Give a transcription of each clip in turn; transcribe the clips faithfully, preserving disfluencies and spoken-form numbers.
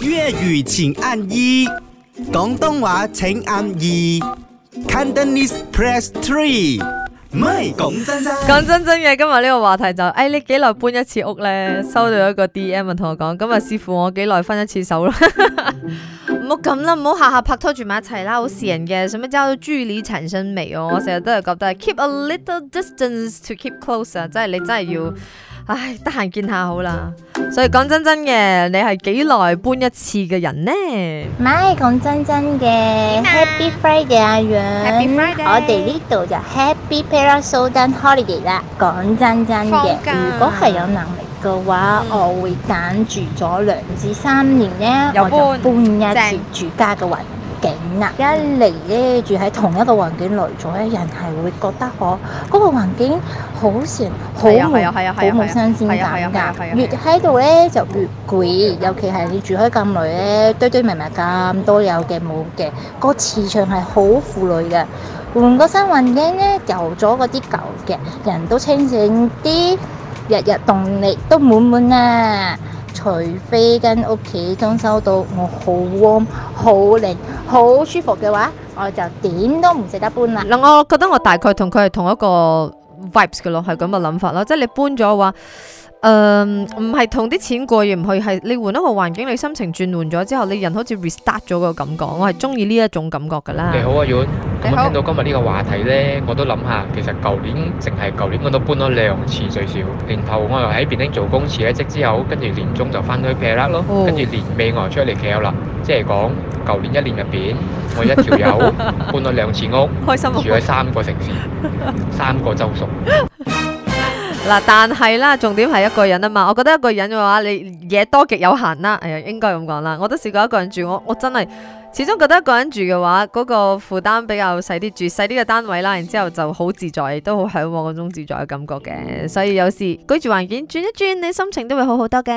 粵語請按一，廣東話請按二 ，Cantonese press three。唔係講真真， 講真真嘅，今日呢個話題就，誒、哎，你幾耐搬一次屋呢？收到一個 D M 同我講，咁啊，視乎我幾耐分一次手啦。唔好咁啦，唔好下下拍拖住埋一齊啦，好蝕人嘅。什麼叫距離產生美哦？我成日都係覺得 keep a little distance to keep closer，即係你真係要，唉，得閒見下好啦。所以講真真嘅，你係幾耐搬一次嘅人呢？ 唔係講真真嘅 ，Happy Friday 阿楊 Happy Friday 我哋呢度就 Happy Parasol Holiday 啦。講真真嘅，如果係有能力嘅話，嗯、我會揀住咗兩至三年咧，我就搬一次住家嘅環境啦。一嚟咧住喺同一個環境耐咗咧，人係會覺得我嗰、嗰個環境好成好冇好冇新鮮感㗎。越喺度咧就越攰，尤其係你住開咁耐咧，堆堆埋埋咁多有嘅冇嘅，個磁場係好負累嘅。換個新環境咧，遊咗嗰啲舊嘅，人都清醒啲，日日動力都滿滿啊！除非間屋企裝修到我好 warm、好靚、好舒服嘅話，我就點都唔捨得搬啦。 嗱，我覺得我大概同佢係同一個 vibes 嘅咯，係咁嘅諗法咯。即係你搬咗嘅話，誒唔係同啲錢過意唔去，係你換一個環境，你心情轉換咗之後，你人好似 restart 咗個感覺。我係中意呢一種感覺㗎啦。 你好啊，阮。咁我聽到今日呢個話題呢，我都諗下，其實舊年淨係舊年我都搬咗兩次最少。年頭我又喺便丁做工辭咗職之後，跟住年中就翻去劈甩咯，跟住、哦、年尾我又出嚟企啦。即係講舊年一年入邊，我一條友搬咗兩次屋，開心住喺三個城市，三個州屬。 嗱，但係啦，重點係一個人啊嘛。我覺得一個人嘅話，你嘢多極有限啦。哎呀，應該咁講啦。我都試過一個人住，我我真係始終覺得一個人住嘅話，嗰、嗰個負擔比較細啲，住細啲嘅單位啦，然之後就好自在，都好向往嗰種自在嘅感覺嘅。所以有時居住環境轉一轉，你心情都會好好多嘅。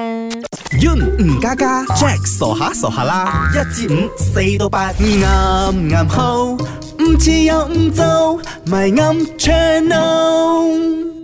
Yun 吳家家 Jack 傻下傻下啦，一至五四到八啱啱好，唔似又唔做，咪啱 channel。